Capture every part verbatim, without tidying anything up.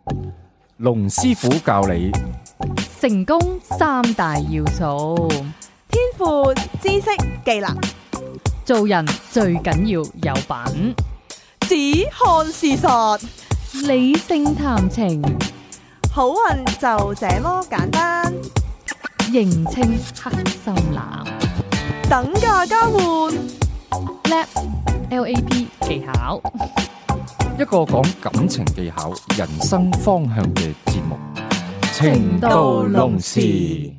龍師傅教你成功三大要素： 天賦、知識、技能。 做人最緊要有品， 只看事實， 理性談情， 好運就這麼簡單。 認清黑心男， 等價交換 L A P L A P 技巧， 一個講感情技巧、人生方向嘅節目。情到濃時，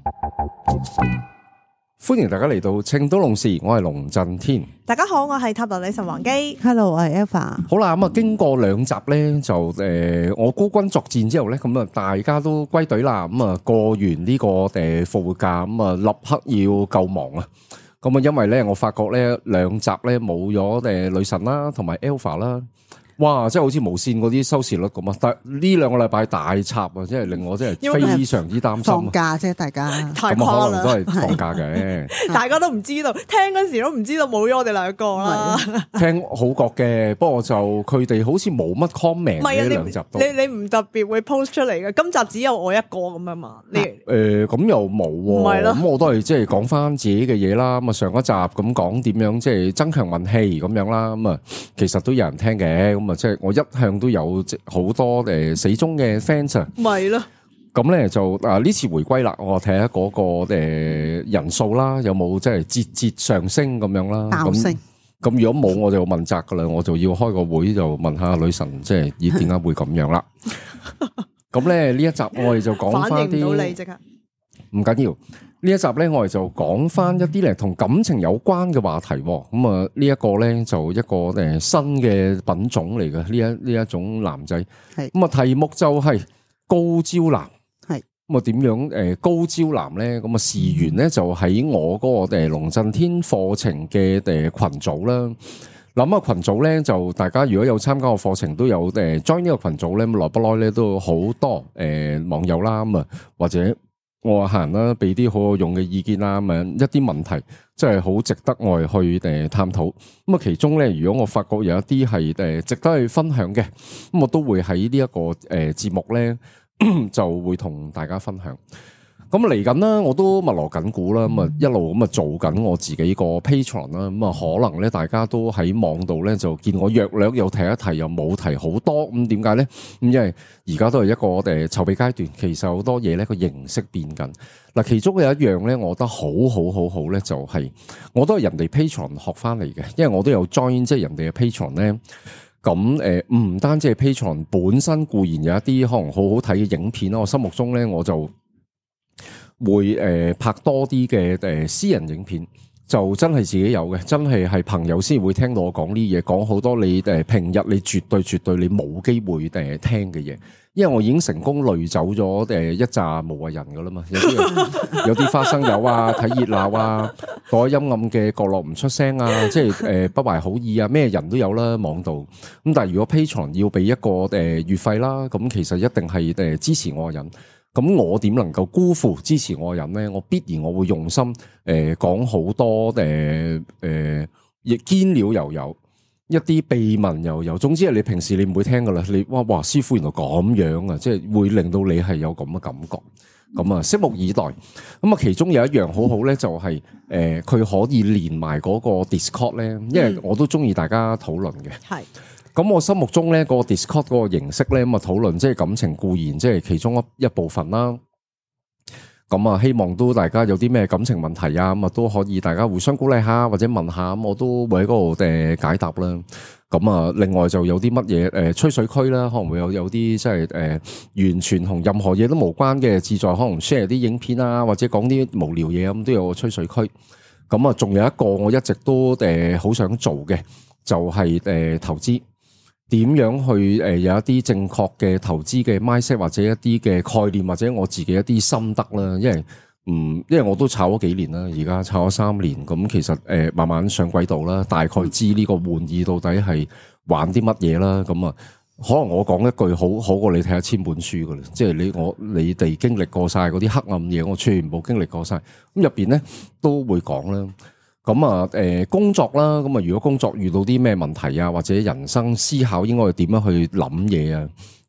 歡迎大家嚟到情到濃時，我係龍震天。 大家好，我係塔羅女神王姬。 Hello，我係 Alpha。 好啦，咁啊，經過兩集咧，就誒、呃，我孤軍作戰之後咧，咁啊，大家都歸隊啦。咁啊，過完呢個誒復活假，咁啊，立刻要救亡啊！咁啊，因為咧，我發覺咧兩集咧冇咗誒女神啦，同埋 Alpha 啦。哇！即係好似無線嗰啲收視率咁啊！但呢兩個禮拜大插啊，即係令我真係非常之擔心。 放假啫，大家太咁誇啦， 可能都係放假嘅。 大家都唔知道，聽嗰時都唔知道冇咗我哋兩個啦。 聽好覺嘅，不過就佢哋好似冇乜 comment 呢兩集都。 你你唔特別會 post 出嚟嘅，今集只有我一個咁樣嘛？你誒咁又冇喎，咁我都係即係講翻自己嘅嘢啦。咁啊上一集咁講點樣即係增強運氣咁樣啦。咁啊其實都有人聽嘅。咁啊即係我一向都有好多誒死忠嘅 fans 啊。 咪咯。 咁咧就啊呢次回歸啦，我睇下嗰個誒人數啦，有冇即係節節上升咁樣啦？ 爆升。 咁如果冇，我就問責噶啦，我就要開個會就問下女神，即係咦點解會咁樣啦？咁咧呢一集我哋就講翻啲，反應唔到你即刻，唔緊要。呢一集咧我哋就講翻一啲咧同感情有關嘅話題。咁啊呢一個咧就一個誒新嘅品種嚟嘅，呢一呢一種男仔。係咁啊題目就係高招男。咁啊，點樣誒高招男咧？咁啊，事緣咧就喺我嗰個誒龍震天課程嘅誒群組啦。諗啊，群組咧就大家如果有參加個課程，都有誒 join 呢個群組咧，咁來不來咧都好多誒網友啦。咁啊，或者我客人啦，俾啲好有用嘅意見啦，咁啊一啲問題，即係好值得我哋去誒探討。咁啊，其中咧，如果我發覺有一啲係誒值得去分享嘅，咁我都會喺呢一個誒節目咧。就會同大家分享。咁嚟緊啦，我都密鑼緊鼓啦，咁啊一路咁啊做緊我自己個 Patreon 啦。咁啊可能咧，大家都喺網度咧就見我約略有提一提，又冇提好多。咁點解咧？咁因為而家都係一個誒籌備階段，其實好多嘢咧個形式變緊。嗱，其中有一樣咧，我覺得好好好好咧，就係我都係人哋 Patreon 學翻嚟嘅，因為我都有 join 即係人哋嘅 Patreon 咧。咁誒，唔單止係 Patreon 本身固然有一啲可能好好睇嘅影片啦，我心目中咧我就會誒拍多啲嘅誒私人影片，就真係自己有嘅，真係係朋友先會聽到我講呢嘢，講好多你誒平日你絕對絕對你冇機會誒聽嘅嘢，因為我已經成功累走咗誒一紮無謂人噶啦嘛，有啲有啲花生友啊，睇熱鬧啊，躲喺陰暗嘅角落唔出聲啊，即係誒不懷好意啊，咩人都有啦網度。咁但係如果 Patreon 要俾一個誒月費啦，咁其實一定係誒支持我嘅人。咁我點能夠辜負支持我嘅人咧？我必然我會用心誒講好多誒誒亦堅料又有。一啲秘聞又有，總之係你平時你唔會聽噶啦，你哇哇師傅原來咁樣啊，即係會令到你係有咁嘅感覺，咁啊拭目以待。咁啊其中有一樣好好咧，就係誒佢可以連埋嗰個 Discord 咧，因為我都中意大家討論嘅。係、嗯，咁我心目中咧個 Discord 嗰個形式咧，咁啊討論即係感情固然即係其中一一部分啦。咁啊，希望都大家有啲咩感情問題啊，咁啊都可以大家互相鼓勵下或者問下，咁我都會喺嗰度誒解答啦。咁啊，另外就有啲乜嘢誒吹水區啦，可能會有有啲即係誒完全同任何嘢都無關嘅，志在可能 share 啲影片啊，或者講啲無聊嘢咁，都有個吹水區。咁啊，仲有一個我一直都誒好想做嘅，就係誒投資。點樣去誒有一啲正確嘅投資嘅 mindset 或者一啲嘅概念或者我自己一啲心得啦，因為嗯，因為我都炒咗幾年啦，而家炒咗三年，咁其實誒慢慢上軌道啦，大概知呢個玩意到底係玩啲乜嘢啦，咁啊，可能我講一句好好過你睇一千本書噶啦，即係你我你哋經歷過晒嗰啲黑暗嘢，我全部經歷過晒，咁入邊咧都會講啦。咁啊，誒，工作啦，咁啊，如果工作遇到啲咩問題啊，或者人生思考應該點樣去諗嘢啊？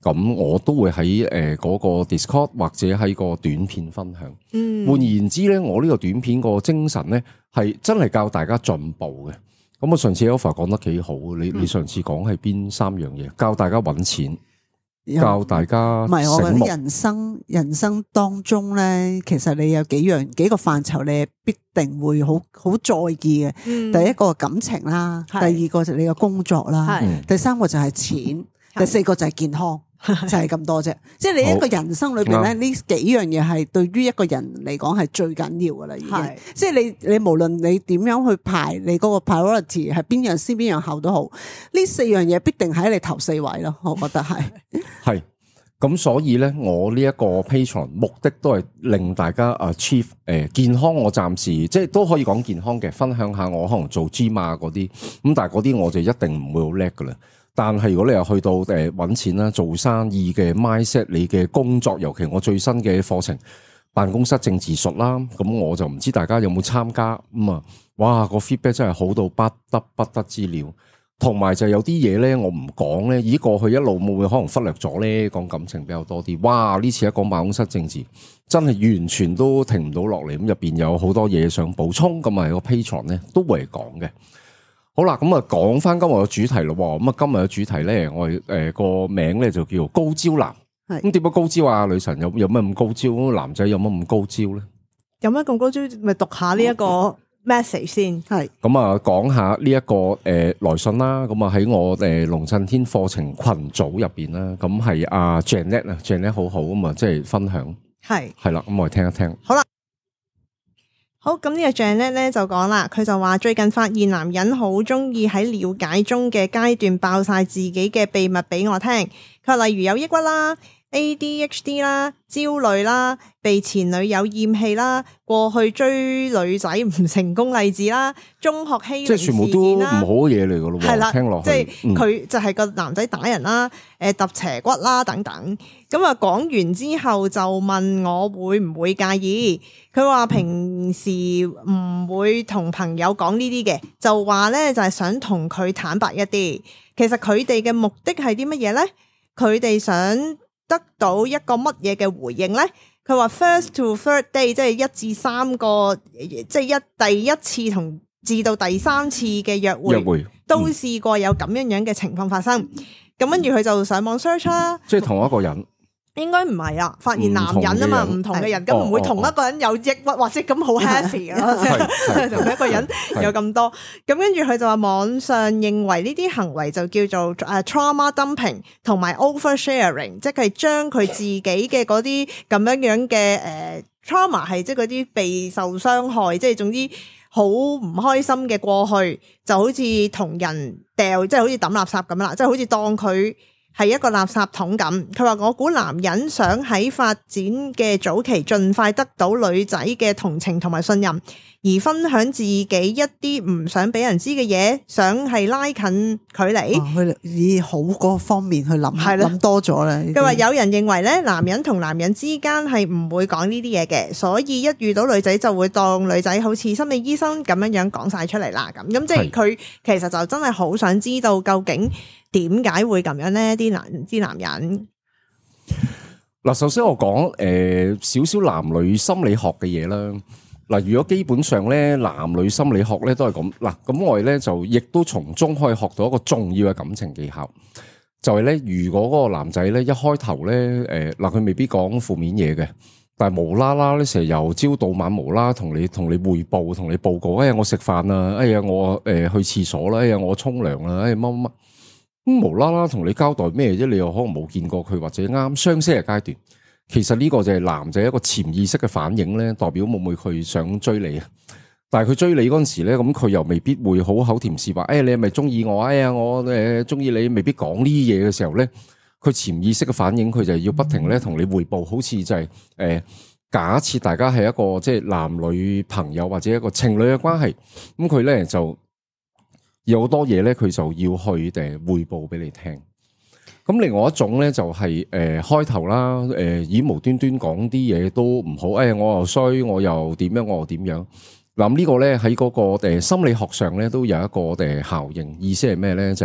咁我都會喺誒嗰個 Discord 或者喺個短片分享。 嗯， 換言之咧，我呢個短片個精神咧係真係教大家進步嘅。咁我上次 Alpha 講得幾好，你你上次講係邊三樣嘢？教大家揾錢。教大家唔係，我覺得人生人生當中咧，其實你有幾樣幾個範疇，你必定會好好在意嘅。嗯、第一個感情啦，是第二個就係你嘅工作啦，是第三個就係錢，是第四個就係健康。就係咁多啫，即係你一個人生裏邊咧，呢幾樣嘢係對於一個人嚟講係最緊要噶啦，已經。即係你你無論你點樣去排你嗰個 priority 係邊樣先邊樣後都好，呢四樣嘢必定喺你頭四位咯，我覺得係。係， 咁所以咧，我呢一個 Patreon 目的都係令大家 achieve 誒健康。我暫時即係都可以講健康嘅，分享下我可能做 gym 啊嗰啲，咁但係嗰啲我就一定唔會好叻噶啦。但係如果你又去到誒搵錢啦、做生意嘅 mindset， 你嘅工作，尤其我最新嘅課程辦公室政治術啦，咁我就唔知大家有冇參加咁啊、嗯？哇，個 feedback 真係好到不得不得之了。同埋就有啲嘢咧，我唔講咧，咦過去一路會唔會可能忽略咗咧？講感情比較多啲。哇，呢次一講辦公室政治，真係完全都停唔到落嚟。咁入邊有好多嘢想補充，咁啊個 Patreon 咧都會講嘅。好啦，咁啊講翻今日嘅主題咯。咁啊今日嘅主題咧，我哋誒個名咧就叫高招男。係咁點解高招啊？女神有有咩咁高招？男仔有乜咁高招咧？有咩咁高招？咪讀下呢一個 message 先。係咁啊，講下呢一個誒來信啦。咁啊喺我誒龍震天課程群組入邊啦。咁係阿 Janet 啊 ，Janet 好好咁啊，即係分享。係係啦，咁我哋聽一聽。好啦。好，咁呢個 Janet 咧就講啦，佢就話最近發現男人好中意喺了解中嘅階段爆晒自己嘅秘密俾我聽。佢話例如有抑鬱啦、A D H D 啦、焦慮啦、被前女友厭棄啦、過去追女仔唔成功例子啦、中學欺凌事件啦，即係全部都唔好嘢嚟噶咯。係啦，聽落去，即係佢就係個男仔打人啦、誒揼斜骨啦等等。咁啊講完之後就問我會唔會介意？佢話平時唔會同朋友講呢啲嘅，就話咧就係想同佢坦白一啲。其實佢哋嘅目的係啲乜嘢咧？佢哋想得到一個乜嘢嘅回應咧？佢話 first to third day 即係一至三個，即係一第一次同至到第三次嘅約會，約會都試過有咁樣樣嘅情況發生。咁跟住佢就上網 search 啦，即係同一個人。應該唔係啊，發現男人啊嘛，唔同嘅人，咁唔會同一個人有抑鬱或者咁好 happy 咯，即係同一個人有咁多。咁跟住佢就話網上認為呢啲行為就叫做誒 trauma dumping 同埋 oversharing， 即係將佢自己嘅嗰啲咁樣樣嘅誒 trauma 係即係嗰啲被受傷害，即係總之好唔開心嘅過去，就好似同人掉，即係好似抌垃圾咁啦，即係好似當佢係一個垃圾桶咁。佢話我估男人想喺發展嘅早期盡快得到女仔嘅同情同埋信任，而分享自己一啲唔想俾人知嘅嘢，想係拉近距離。佢、哦、以好嗰方面去諗，係諗多咗啦。佢話有人認為咧，男人同男人之間係唔會講呢啲嘢嘅，所以一遇到女仔就會當女仔好似心理醫生咁樣樣講晒出嚟啦。咁咁即係佢其實就真係好想知道究竟點解會咁樣咧？啲男啲男人嗱，首先我講誒少少男女心理學嘅嘢啦。嗱，如果基本上咧男女心理學咧都係咁嗱，咁我哋咧就亦都從中可以學到一個重要嘅感情技巧，就係咧如果嗰個男仔咧一開頭咧誒嗱佢未必講負面嘢嘅，但係無啦啦咧成日由朝到晚無啦同你同你匯報同你報告，哎呀我食飯啦，哎呀我誒去廁所啦，哎呀我沖涼啦，哎乜乜乜。咁無啦啦同你交代咩啫？你又可能冇見過佢，或者啱相識嘅階段，其實呢個就係男仔一個潛意識嘅反應咧，代表會唔會佢想追你啊？但係佢追你嗰陣時咧，咁佢又未必會好口甜舌滑。哎，你係咪中意我？哎呀，我誒中意你，未必講呢啲嘢嘅時候咧，佢潛意識嘅反應，佢就係要不停咧同你匯報，好似就係、是、誒、呃、假設大家係一個即係男女朋友或者一個情侶嘅關係，咁佢咧就。有好多嘢咧，佢就要去誒匯報俾你聽。咁另外一種咧就係、是、誒、呃、開頭啦，誒、呃、以無端端講啲嘢都唔好，誒、哎、我又衰，我又點樣，我又點樣。嗱、這個、呢個咧喺嗰個誒心理學上咧都有一個誒效應，意思係咩咧？就係、是、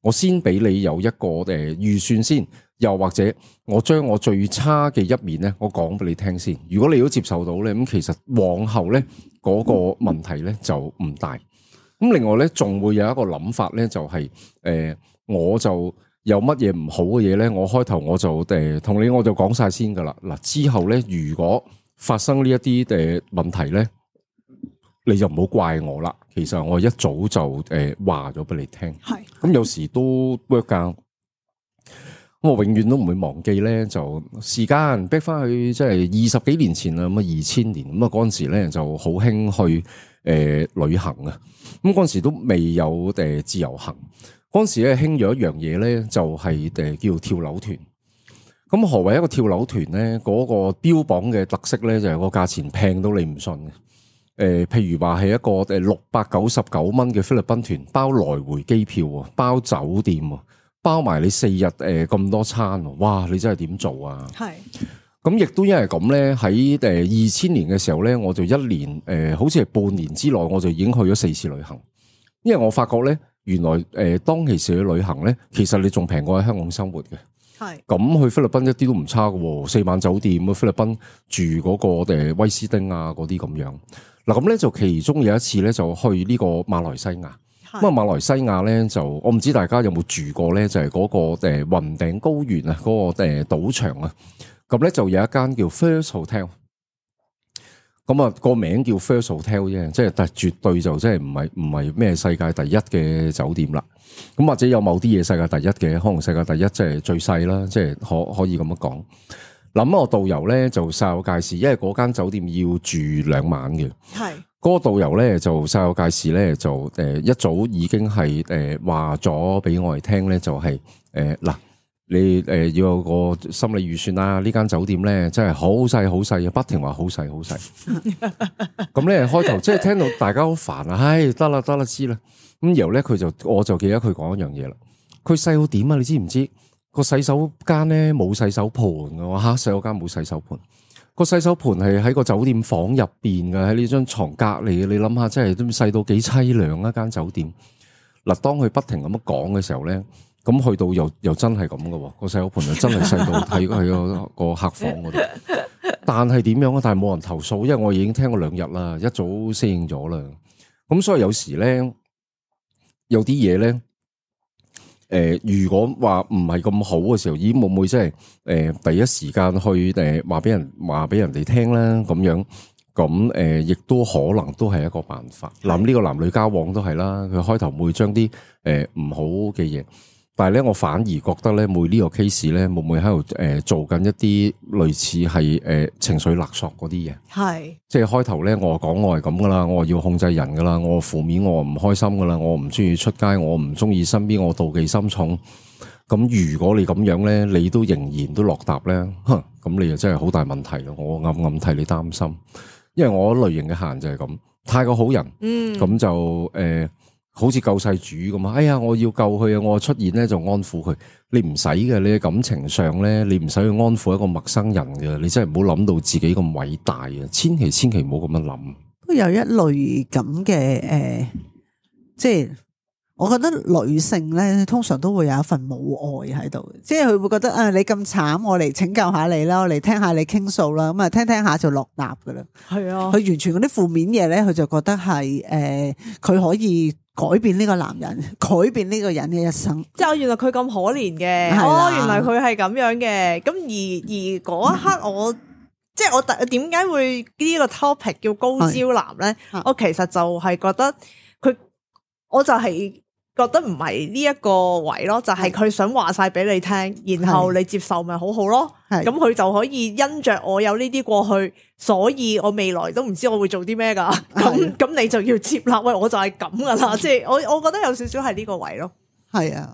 我先俾你有一個誒預算先，又或者我將我最差嘅一面咧，我講俾你聽先。如果你都接受到咧，咁其實往後咧嗰個問題咧就唔大。咁另外咧，仲會有一個諗法咧，就係、是、誒、呃，我就有乜嘢唔好嘅嘢咧，我開頭我就誒同、呃、你我就講晒先噶啦。嗱，之後咧，如果發生呢一啲誒問題咧，你就唔好怪我啦。其實我一早就誒話咗俾你聽，係咁有時都 work 噶。咁我永遠都唔會忘記咧，就時間逼翻去即係二十幾年前啦，咁啊二千年咁啊嗰陣時咧就好興去誒、呃、旅行啊。咁嗰陣時都未有誒自由行，嗰陣時咧興咗一樣嘢咧，就係誒叫跳樓團。咁何謂一個跳樓團咧？嗰、嗰個標榜嘅特色咧，就係個價錢平到你唔信嘅。誒、呃，譬如話係一個誒六百九十九蚊嘅菲律賓團，包來回機票啊，包酒店啊，包埋你四日誒咁多餐，哇！你真係點做啊？係。咁亦都因為咁咧，喺誒二千年嘅時候咧，我就一年誒、呃，好似係半年之內，我就已經去咗四次旅行。因為我發覺咧，原來誒、呃、當其時去旅行咧，其實你仲平過喺香港生活嘅。係。咁去菲律賓一啲都唔差嘅，四晚酒店啊，菲律賓住嗰個誒威斯汀啊嗰啲咁樣。嗱咁咧就其中有一次咧就去呢個馬來西亞，咁啊馬來西亞咧就我唔知大家有冇住過咧，就係、是、嗰個誒雲頂高原啊，嗰個誒賭場啊，咁咧就有一間叫 First Hotel， 咁啊個名叫 First Hotel 啫，即係但係絕對就即係唔係唔係咩世界第一嘅酒店啦，咁或者有某啲嘢世界第一嘅，可能世界第一即係最細啦，即係可可以咁樣講。諗我導遊咧就晒我介紹，因為嗰間酒店要住兩晚嘅。係嗰個導遊咧就晒我介紹咧就誒一早已經係誒話咗俾我哋聽咧，就係誒嗱你誒要有個心理預算啦。呢間酒店咧真係好細好細，不停話好細好細。咁咧開頭即係聽到大家好煩啊，唉得啦得啦知啦。咁然後咧佢就我就記得佢講一樣嘢啦。佢細到點啊？你知唔知？個洗手間咧冇洗手盆嘅，吓洗手間冇洗手盆。個洗手盆係喺個酒店房入邊嘅，喺呢張床隔籬嘅。你諗下，真係都細到幾淒涼一間酒店。嗱，當佢不停咁樣講嘅時候咧，咁去到又又真係咁嘅，個洗手盆就真係細到睇喺個個客房嗰度。但係點樣啊？但係冇人投訴，因為我已經聽過兩日啦，一早適應咗啦。咁所以有時咧，有啲嘢咧。誒、呃，如果話唔係咁好嘅時候，咦會唔會即係誒第一時間去誒話俾人話俾人哋聽咧？咁樣咁誒，亦、呃、都可能都係一個辦法。嗱，呢個男女交往都係啦，佢開頭會將啲誒唔好嘅嘢。但係咧，我反而覺得咧，每呢個 case 咧，會唔會喺度誒做緊一啲類似係誒、呃、情緒勒索嗰啲嘢？係，即係開頭咧，我講我係咁噶啦，我要控制人噶啦，我負面，我唔開心噶啦，我唔中意出街，我唔中意身邊，我妒忌心重。咁如果你咁樣咧，你都仍然都落答咧，哼，咁你就真係好大問題咯。我暗暗替你擔心，因為我類型嘅客人就係咁，太過好人，嗯，咁就誒。呃好似救世主咁啊！哎呀，我要救佢啊！我出現咧就安撫佢。你唔使嘅，你嘅感情上咧，你唔使去安撫一個陌生人嘅。你真係唔好諗到自己咁偉大啊！千祈千祈唔好咁樣諗。 都有一類咁嘅誒，即係我覺得女性咧，通常都會有一份母愛喺度，即係佢會覺得啊，你咁慘，我嚟拯救下你啦，我嚟聽下你傾訴啦，咁啊聽聽下就落答噶啦。係啊，佢完全嗰啲負面嘢咧，佢就覺得係誒，佢、呃、可以。改變呢個男人，改變呢個人嘅一生。即係原來佢咁可憐嘅，哦，原來佢係咁樣嘅。咁而而嗰一刻我，我即係我點解會呢個 topic 叫高招男咧？我其實就係覺得佢，我就係覺得唔係呢一個位咯，就係、是、佢想話晒俾你聽，然後你接受咪好好咯。咁佢就可以因着我有呢啲過去，所以我未來都唔知我會做啲咩噶。咁咁你就要接納，喂，我就係咁噶啦。即係我我覺得有少少係呢個位咯。係啊，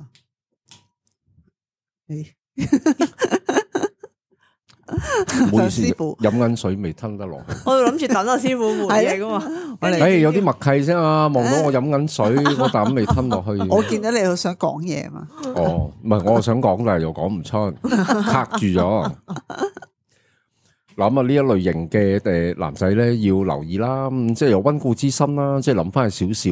唔好意思，飲緊水未吞得落去。 我諗住等阿師傅換嘢噶嘛。 誒，有啲默契先啊！望到我飲緊水，我啖未吞落去。 我見到你又想講嘢嘛？ 哦，唔係，我想講，但係又講唔出，卡住咗。諗啊，呢一類型嘅誒男仔咧，要留意啦，即係有溫故知新啦，即係諗翻去少少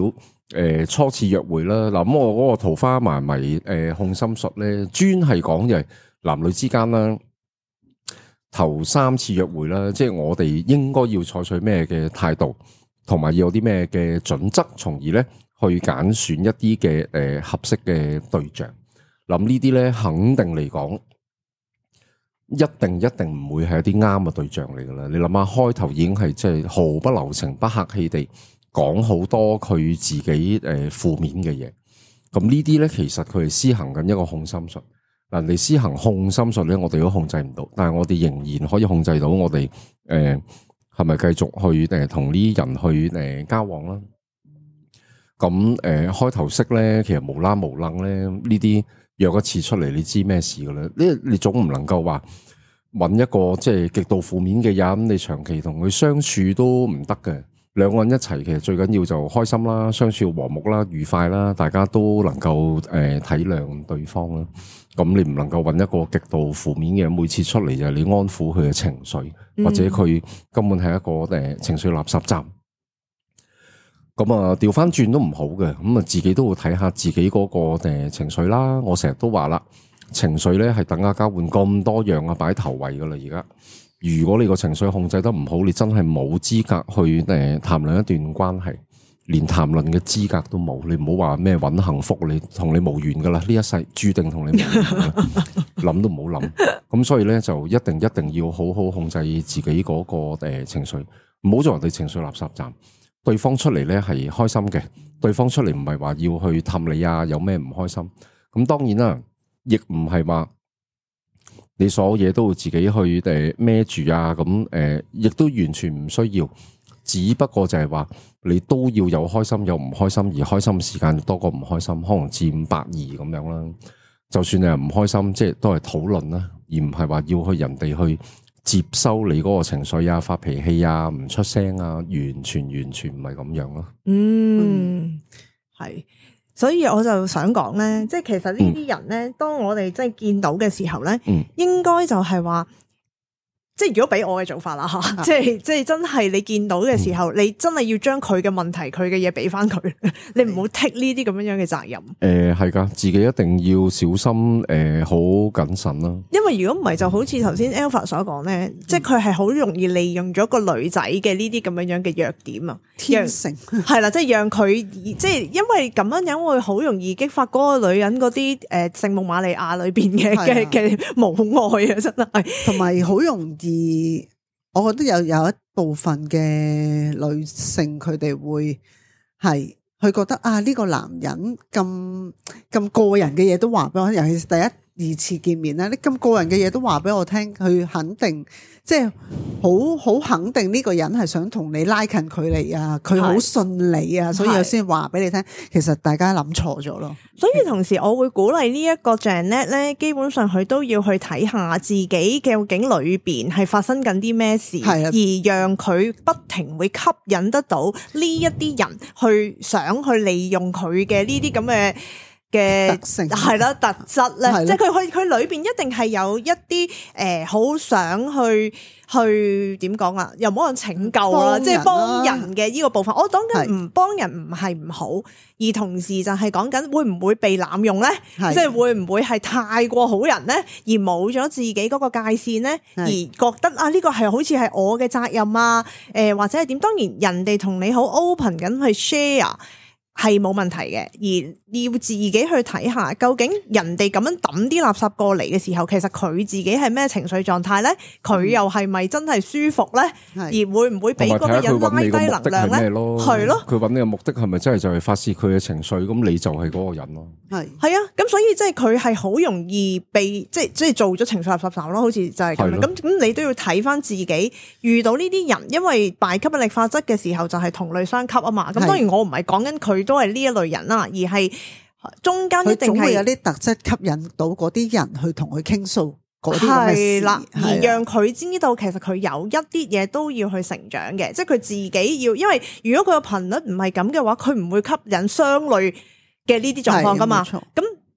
誒、呃、初次約會啦。嗱，咁我嗰個桃花迷迷誒控心術咧，專係講就係男女之間啦，頭三次約會啦，即係我哋應該要採取咩嘅態度，同埋要有啲咩嘅準則，從而咧去揀選一啲嘅誒合適嘅對象。諗呢啲咧，肯定嚟講，一定一定唔會係一啲啱嘅對象嚟噶啦。你諗下，開頭已經係即係毫不留情、不客氣地講好多佢自己誒負面嘅嘢。咁呢啲咧，其實佢係施行緊一個控心術。嗱，你施行控心術咧，我哋都控制唔到，但係我哋仍然可以控制到我哋誒係咪繼續去誒同呢啲人去誒、呃、交往啦。咁誒、呃、開頭識咧，其實無啦無楞咧呢啲。約一次出嚟，你知咩事噶啦？呢你總唔能夠話揾一個即係極度負面嘅人，你長期同佢相處都唔得嘅。兩個人一齊，其實最緊要就開心啦，相處和睦啦，愉快啦，大家都能夠誒、呃、體諒對方啦。咁你唔能夠揾一個極度負面嘅人，每次出嚟就係你安撫佢嘅情緒，或者佢根本係一個誒、呃、情緒垃圾站。咁啊，調翻轉都唔好嘅，咁啊，自己都會睇下自己嗰個誒情緒啦。我成日都話啦，情緒咧係等價交換咁多樣啊，擺頭位噶啦。而家如果你個情緒控制得唔好，你真係冇資格去誒談論一段關係，連談論嘅資格都冇。你唔好話咩搵幸福，你同你無緣噶啦，呢一世注定同你無緣，諗都唔好諗。咁所以咧就一定一定要好好控制自己嗰個誒情緒，唔好做人哋情緒垃圾站。對方出嚟咧係開心嘅，對方出嚟唔係話要去氹你啊，有咩唔開心？咁當然啦，亦唔係話你所有嘢都會自己去誒孭住啊，咁誒亦都完全唔需要，只不過就係話你都要有開心有唔開心，而開心嘅時間多過唔開心，可能佔五百二咁樣啦。就算你係唔開心，即係都係討論啦，而唔係話要去人哋去接收你嗰個情緒啊，發脾氣啊，唔出聲啊，完全完全唔係咁樣咯。 嗯，係，所以我就想講咧，即係其實呢啲人咧，嗯、當我哋即係見到嘅時候咧，嗯、應該就係話。即係如果俾我嘅做法啦吓，即係即係真係你見到嘅時候，嗯、你真係要將佢嘅問題、佢嘅嘢俾翻佢，你唔好 take 呢啲咁樣樣嘅責任。誒、呃，係噶，自己一定要小心誒，好、呃、謹慎啦。因為如果唔係，就好似頭先 Alpha 所講咧，嗯、即係佢係好容易利用咗個女仔嘅呢啲咁樣樣嘅弱點啊，天性係啦，即係讓佢即係因為咁樣樣會好容易激發嗰個女人嗰啲誒聖母瑪利亞裏邊嘅嘅嘅母愛啊，真係，同埋好容易。而我覺得有有一部分嘅女性，佢哋會係佢覺得啊，呢個男人咁咁個人嘅嘢都話俾我聽，尤其是第一二次見面咧，你咁個人嘅嘢都話俾我聽，佢肯定即係好好肯定呢個人係想同你拉近距離啊，佢好信你啊，所以我先話俾你聽。其實大家諗錯咗咯。所以同時我會鼓勵呢一個 Janet 咧，基本上佢都要去睇下自己究竟裏邊係發生緊啲咩事，的而讓佢不停會吸引得到呢一啲人去想去利用佢嘅呢啲咁嘅嘅特性係啦，特質咧，的即係佢佢佢裏邊一定係有一啲誒，好、呃、想去去點講啊？又唔好講拯救啦，即係幫人嘅呢個部分。我講緊唔幫人唔係唔好，而同時就係講緊會唔會被濫用咧？的即係會唔會係太過好人咧，而冇咗自己嗰個界線咧，的而覺得啊呢個係好似係我嘅責任啊？誒、呃、或者係點？當然人哋同你好 open 緊去 share。係冇問題嘅，而要自己去睇下，究竟人哋咁樣抌啲垃圾過嚟嘅時候，其實佢自己係咩情緒狀態咧？佢又係咪真係舒服咧？嗯、而會唔會俾嗰個人拉低能量咧？係咯，佢揾你嘅目的係咪真係就係發洩佢嘅情緒？咁你就係嗰個人咯。係係啊，咁所以即係佢係好容易被即係即係做咗情緒垃圾站咯，好似就係咁樣。咁咁的你都要睇翻自己遇到呢啲人，因為拜吸引力法則嘅時候就係同類相吸啊嘛。咁當然我唔係講緊佢。都係呢一類人啦，而係中間一定係有啲特質吸引到嗰啲人去同佢傾訴嗰啲咁嘅事，而讓佢知道其實佢有一啲嘢都要去成長嘅，即係佢自己要，因為如果佢個頻率唔係咁嘅話，佢唔會吸引相類嘅呢啲狀況噶嘛。咁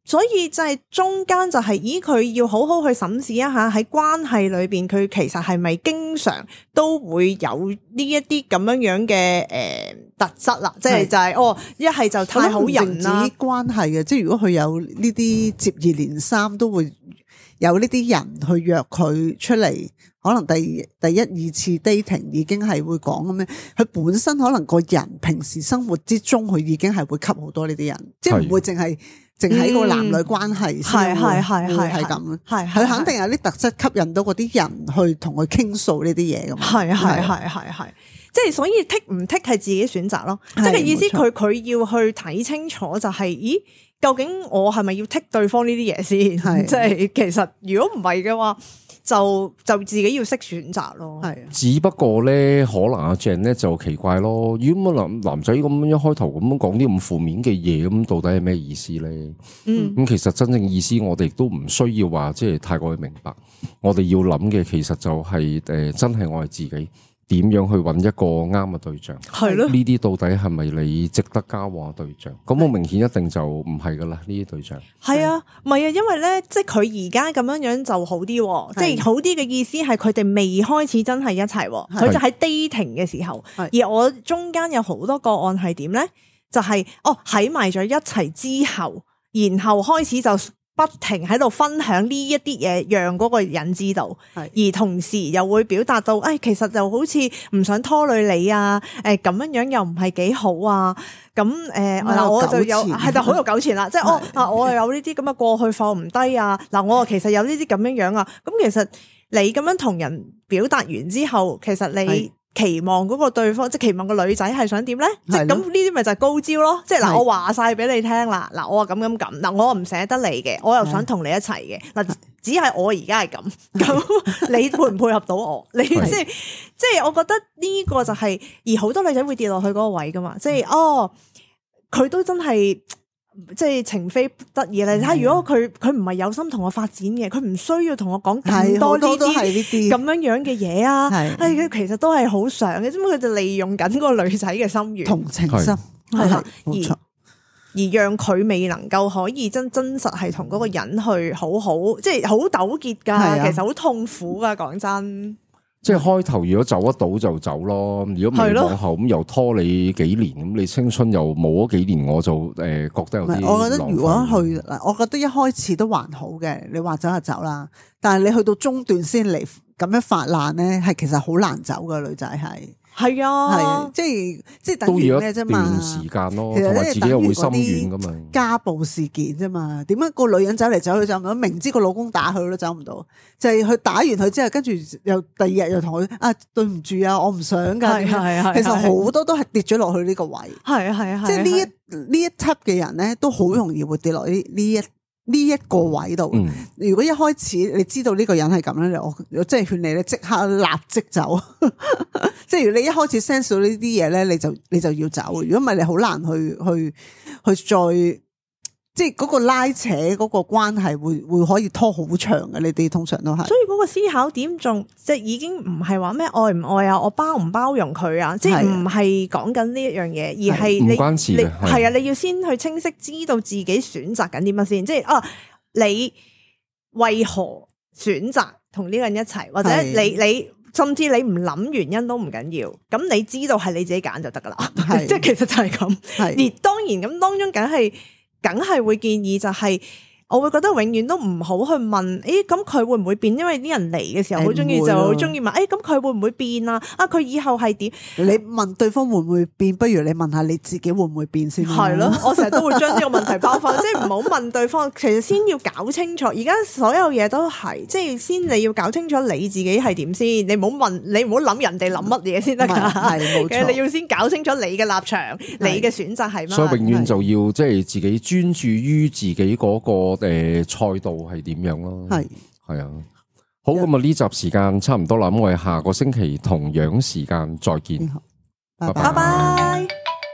所以就係中間就係、是，咦佢要好好去審視一下喺關係裏邊，佢其實係咪經常都會有呢一啲咁樣樣嘅誒特質啦？即係就係、是、哦，一係就太好人啦， 關係嘅，即係如果佢有呢啲接二連三都會有呢啲人去約佢出嚟，可能第第一二次 dating 已經係會講咁樣，佢本身可能個人平時生活之中佢已經係會吸好多呢啲人，即係唔會淨係。淨係個男女關係先會係咁，係佢肯定有啲特質吸引到嗰啲人去同佢傾訴呢啲嘢㗎嘛。 係係係係係，即係所以剔唔剔係自己選擇咯。即係意思佢佢要去睇清楚就係，咦，究竟我係咪要剔對方呢啲嘢先？即係其實如果唔係嘅話。就就自己要識選擇咯，係。 只不過咧，可能阿 Jane 咧就奇怪咯。如果男男仔咁樣一開頭咁樣講啲咁負面嘅嘢，咁到底係咩意思咧？嗯，咁其實真正意思我哋都唔需要話即係太過去明白。我哋要諗嘅其實就係、是、誒、呃，真係我係自己。點樣去揾一個啱嘅對象？係咯，呢啲到底係咪你值得交往嘅對象？咁好明顯一定就唔係噶啦，呢啲對象。係啊， 唔係啊，因為咧，即係佢而家咁樣樣就好啲，即係好啲嘅意思係佢哋未開始真係一齊，佢就喺 dating 嘅時候。而我中間有好多個案係點咧？就係、是、哦喺埋咗一齊之後，然後開始就。不停喺度分享呢一啲嘢，讓嗰個人知道，而同時又會表達到，誒、哎，其實就好似唔想拖累你啊，誒、呃，咁樣樣又唔係幾好啊，咁誒，嗱、呃，我就有係就好有糾纏啦，即係我啊，我又有呢啲咁嘅過去放唔低啊，嗱，我其實有呢啲咁樣樣啊，咁其實你咁樣同人表達完之後，其實你。期望嗰個對方，即係期望個女仔係想點咧？即係咁呢啲咪就係高招咯！即係嗱，我話晒俾你聽啦，嗱，我話咁咁咁，嗱，我唔捨得你嘅，我又想同你一齊嘅，嗱，只係我而家係咁，咁你配唔配合到我？你即係即係，我覺得呢個就係、是，而好多女仔會跌落去嗰個位噶嘛，即係哦，佢都真係。即係情非得已咧，你睇下，如果佢佢唔係有心同我發展嘅，佢唔需要同我講咁多呢啲咁樣樣嘅嘢啊。係，佢其實都係好想嘅，只不過佢就利用緊嗰個女仔嘅心願、同情心係啦，而而讓佢未能夠可以真真實係同嗰個人去好好，即係好糾結噶，其實好痛苦噶，講真。 即係開頭如果走得到就走咯，如果未往後咁又拖你幾年，咁你青春又冇咗幾年，我就誒覺得有啲。 我覺得如果去嗱，我覺得一開始都還好嘅，你話走就走啦。但係你去到中段先嚟咁樣發爛咧，係其實好難走嘅，女仔係。係啊，係即係即係等於咩啫嘛？ 段時間咯，同埋自己又會心軟噶嘛。 家暴事件啫嘛，點解個女人走嚟走去走唔到？明知個老公打佢都走唔到，就係、是、佢打完佢之後，跟住又第二日又同佢啊，對唔住啊，我唔想噶。係係係，其實好多都係跌咗落去呢個位。係係係，即係呢一呢一 type 嘅人咧，都好容易會跌落呢呢一。呢一個位度，嗯、如果一開始你知道呢個人係咁咧，我我真係勸你咧，即刻立即走。即係如果你一開始 sense 到呢啲嘢咧，你就你就要走。如果唔係，你好難去去去再。即係嗰個拉扯嗰個關係會會可以拖好長嘅，你哋通常都係。所以嗰個思考點仲即係已經唔係話咩愛唔愛啊，我包唔包容佢啊，即係唔係講緊呢一樣嘢，而係你你係啊，你要先去清晰知道自己選擇緊啲乜先，即係啊，你為何選擇同呢個人一齊，或者你你甚至你唔諗原因都唔緊要，咁你知道係你自己揀就得噶啦，即係其實就係咁。而當然咁當中梗係。梗係會建議就係、是，我會覺得永遠都唔好去問，誒咁佢會唔會變？因為啲人嚟嘅時候好中意就好中意問，誒咁佢會唔會變啊？啊佢以後係點？你問對方會唔會變，不如你問下你自己會唔會變先。係咯，我成日都會將呢個問題包翻，即係唔好問對方，其實先要搞清楚。而家所有嘢都係，即係先你要搞清楚你自己係點先，你唔好問，你唔好諗人哋諗乜嘢先得噶。係冇錯，你要先搞清楚你嘅立場，你嘅選擇係乜。所以永遠就要即係自己專注於自己嗰個。誒，賽道係點樣咯？係係啊，好，咁啊呢集時間差唔多啦，咁我哋下個星期同樣時間再見，拜拜。拜拜。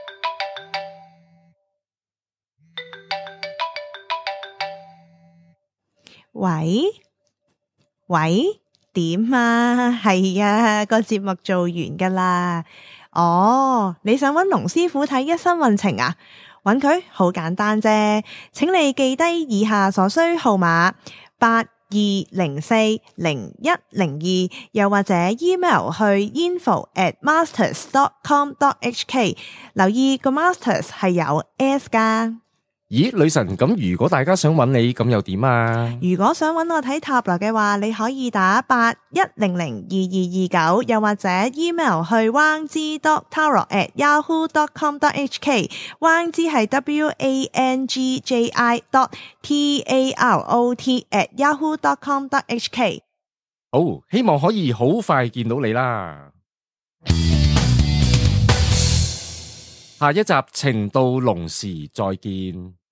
喂喂，點啊？係啊，個節目做完噶啦。哦，你想揾龍師傅睇一生運程啊？ 揾佢好簡單啫，請你記低以下所需號碼八二零四零一零二，又或者 email 去 info at masters dot com dot h k， 留意個 masters 係有 s 噶。 咦，女神，咁如果大家想揾你，咁又點啊？ 如果想揾我睇塔羅嘅話，你可以打八一零零二二二九，又或者 email 去 wang zi dot tarot at yahoo dot com dot h k。wang zi 係 w a n g j i dot t a r o t at yahoo dot com dot h k。 好，希望可以好快見到你啦。下一集情到濃時再見。